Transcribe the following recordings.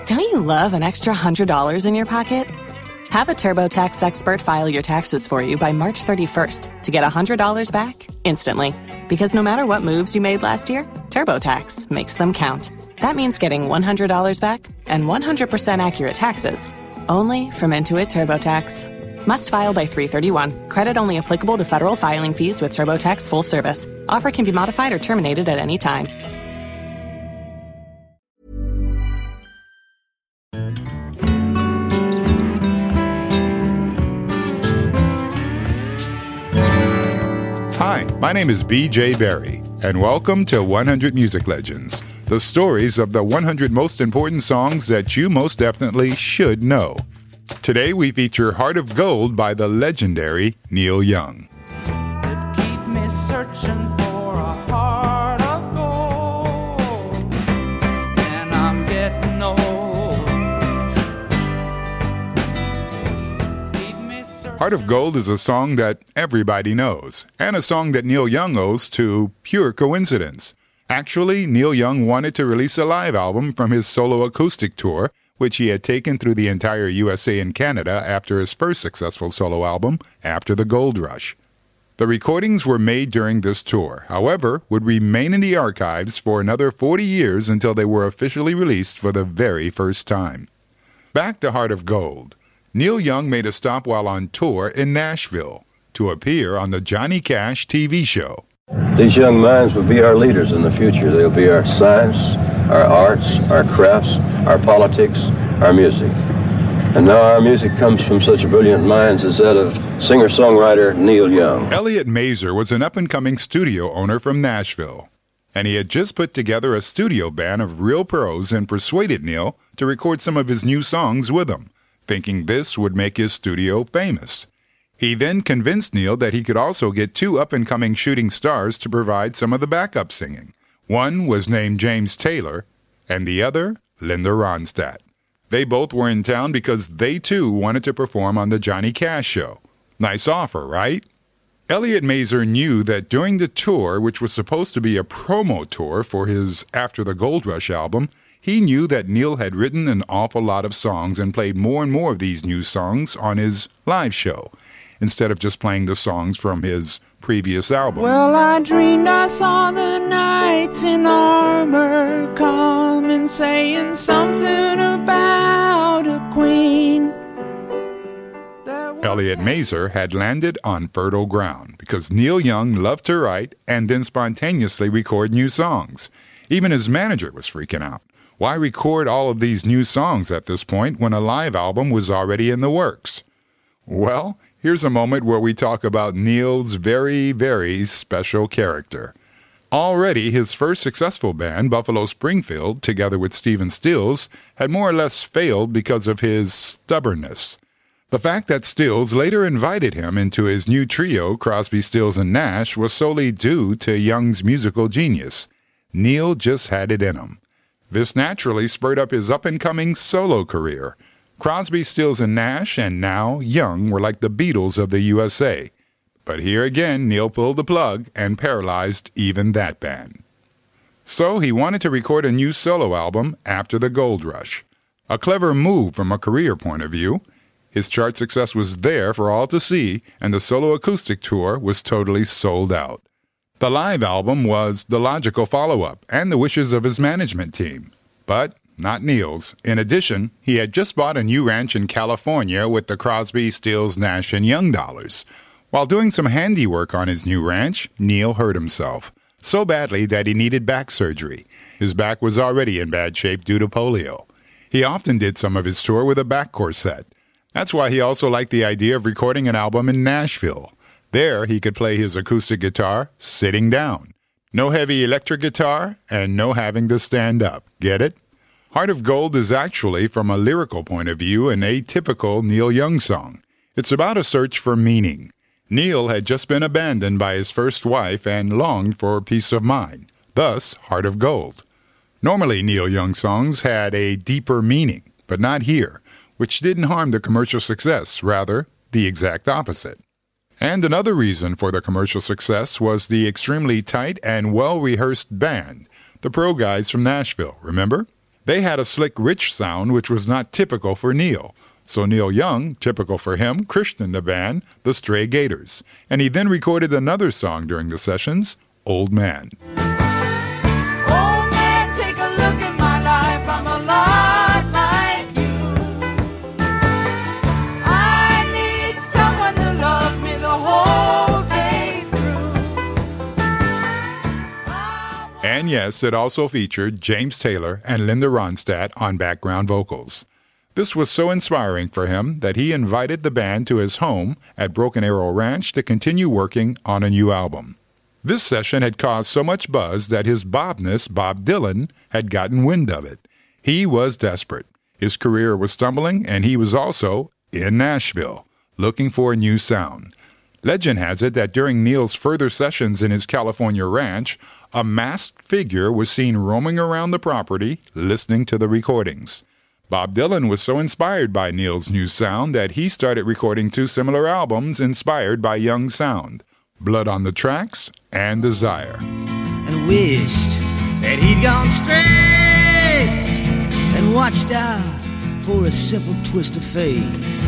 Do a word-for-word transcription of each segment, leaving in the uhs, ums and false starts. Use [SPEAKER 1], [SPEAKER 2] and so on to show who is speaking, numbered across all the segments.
[SPEAKER 1] Don't you love an extra one hundred dollars in your pocket? Have a TurboTax expert file your taxes for you by March thirty-first to get one hundred dollars back instantly. Because no matter what moves you made last year, TurboTax makes them count. That means getting one hundred dollars back and one hundred percent accurate taxes, only from Intuit TurboTax. Must file by three thirty-one. Credit only applicable to federal filing fees with TurboTax full service. Offer can be modified or terminated at any time.
[SPEAKER 2] Hi, my name is B J Berry, and welcome to one hundred Music Legends, the stories of the one hundred most important songs that you most definitely should know. Today we feature Heart of Gold by the legendary Neil Young.
[SPEAKER 3] Keep me searching for a heart of gold, and I'm getting old. Keep me searching.
[SPEAKER 2] Heart of Gold is a song that everybody knows, and a song that Neil Young owes to pure coincidence. Actually, Neil Young wanted to release a live album from his solo acoustic tour, which he had taken through the entire U S A and Canada after his first successful solo album, After the Gold Rush. The recordings were made during this tour, however, would remain in the archives for another forty years until they were officially released for the very first time. Back to Heart of Gold. Neil Young made a stop while on tour in Nashville to appear on the Johnny Cash T V show.
[SPEAKER 4] These young minds will be our leaders in the future. They'll be our science, our arts, our crafts, our politics, our music. And now our music comes from such brilliant minds as that of singer-songwriter Neil Young.
[SPEAKER 2] Elliot Mazer was an up-and-coming studio owner from Nashville, and he had just put together a studio band of real pros and persuaded Neil to record some of his new songs with him, thinking this would make his studio famous. He then convinced Neil that he could also get two up-and-coming shooting stars to provide some of the backup singing. One was named James Taylor, and the other, Linda Ronstadt. They both were in town because they too wanted to perform on the Johnny Cash show. Nice offer, right? Elliot Mazer knew that during the tour, which was supposed to be a promo tour for his After the Gold Rush album, he knew that Neil had written an awful lot of songs and played more and more of these new songs on his live show, instead of just playing the songs from his previous album.
[SPEAKER 3] Well, I dreamed I saw the knights in armor coming, saying something about a queen.
[SPEAKER 2] Elliot Mazer had landed on fertile ground because Neil Young loved to write and then spontaneously record new songs. Even his manager was freaking out. Why record all of these new songs at this point when a live album was already in the works? Well, here's a moment where we talk about Neil's very, very special character. Already, his first successful band, Buffalo Springfield, together with Stephen Stills, had more or less failed because of his stubbornness. The fact that Stills later invited him into his new trio, Crosby, Stills and Nash, was solely due to Young's musical genius. Neil just had it in him. This naturally spurred up his up-and-coming solo career. Crosby, Stills and Nash, and now Young were like the Beatles of the U S A. But here again, Neil pulled the plug and paralyzed even that band. So he wanted to record a new solo album after the Gold Rush. A clever move from a career point of view. His chart success was there for all to see, and the solo acoustic tour was totally sold out. The live album was the logical follow-up and the wishes of his management team. But not Neil's. In addition, he had just bought a new ranch in California with the Crosby, Stills, Nash, and Young dollars. While doing some handiwork on his new ranch, Neil hurt himself so badly that he needed back surgery. His back was already in bad shape due to polio. He often did some of his tour with a back corset. That's why he also liked the idea of recording an album in Nashville. There, he could play his acoustic guitar sitting down. No heavy electric guitar, and no having to stand up. Get it? Heart of Gold is actually, from a lyrical point of view, an atypical Neil Young song. It's about a search for meaning. Neil had just been abandoned by his first wife and longed for peace of mind. Thus, Heart of Gold. Normally, Neil Young songs had a deeper meaning, but not here, which didn't harm the commercial success, rather, the exact opposite. And another reason for the commercial success was the extremely tight and well-rehearsed band, the Pro Guys from Nashville, remember? They had a slick, rich sound which was not typical for Neil. So Neil Young, typical for him, christened the band the Stray Gators, and he then recorded another song during the sessions, Old Man.
[SPEAKER 3] Old man, take a look at my life, I'm a lot like you. I need someone to love me the whole day through.
[SPEAKER 2] And yes, it also featured James Taylor and Linda Ronstadt on background vocals. This was so inspiring for him that he invited the band to his home at Broken Arrow Ranch to continue working on a new album. This session had caused so much buzz that his Bobness, Bob Dylan, had gotten wind of it. He was desperate. His career was stumbling, and he was also in Nashville, looking for a new sound. Legend has it that during Neil's further sessions in his California ranch, a masked figure was seen roaming around the property, listening to the recordings. Bob Dylan was so inspired by Neil's new sound that he started recording two similar albums inspired by Young's sound, Blood on the Tracks and Desire.
[SPEAKER 5] And wished that he'd gone straight and watched out for a simple twist of fate.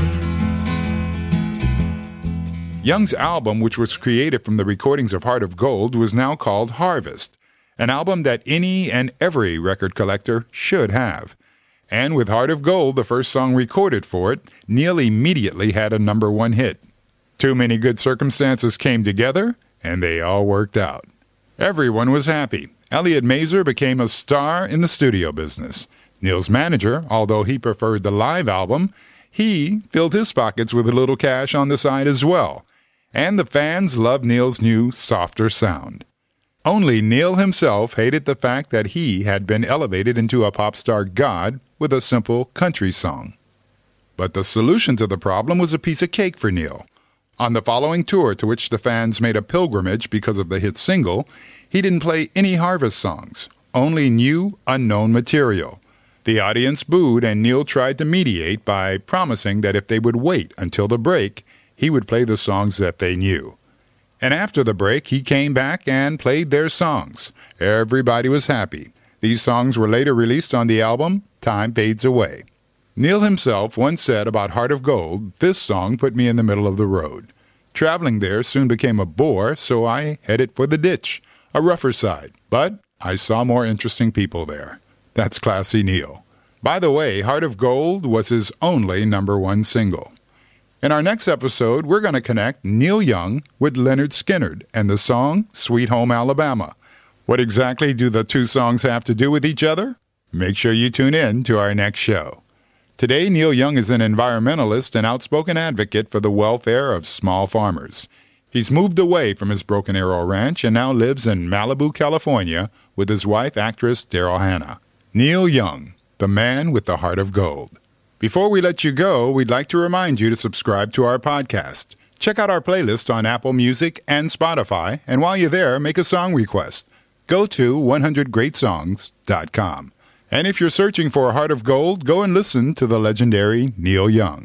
[SPEAKER 2] Young's album, which was created from the recordings of Heart of Gold, was now called Harvest, an album that any and every record collector should have. And with Heart of Gold, the first song recorded for it, Neil immediately had a number one hit. Too many good circumstances came together, and they all worked out. Everyone was happy. Elliot Mazer became a star in the studio business. Neil's manager, although he preferred the live album, he filled his pockets with a little cash on the side as well. And the fans loved Neil's new, softer sound. Only Neil himself hated the fact that he had been elevated into a pop star god with a simple country song. But the solution to the problem was a piece of cake for Neil. On the following tour, to which the fans made a pilgrimage because of the hit single, he didn't play any Harvest songs, only new, unknown material. The audience booed, and Neil tried to mediate by promising that if they would wait until the break, he would play the songs that they knew. And after the break, he came back and played their songs. Everybody was happy. These songs were later released on the album Time Fades Away. Neil himself once said about Heart of Gold, "This song put me in the middle of the road. Traveling there soon became a bore, so I headed for the ditch, a rougher side. But I saw more interesting people there." That's classy Neil. By the way, Heart of Gold was his only number one single. In our next episode, we're going to connect Neil Young with Lynyrd Skynyrd and the song Sweet Home Alabama. What exactly do the two songs have to do with each other? Make sure you tune in to our next show. Today, Neil Young is an environmentalist and outspoken advocate for the welfare of small farmers. He's moved away from his Broken Arrow Ranch and now lives in Malibu, California, with his wife, actress Daryl Hannah. Neil Young, the man with the heart of gold. Before we let you go, we'd like to remind you to subscribe to our podcast. Check out our playlist on Apple Music and Spotify, and while you're there, make a song request. Go to one hundred great songs dot com. And if you're searching for a heart of gold, go and listen to the legendary Neil Young.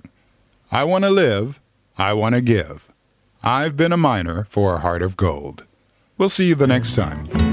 [SPEAKER 2] I want to live, I want to give. I've been a miner for a heart of gold. We'll see you the next time.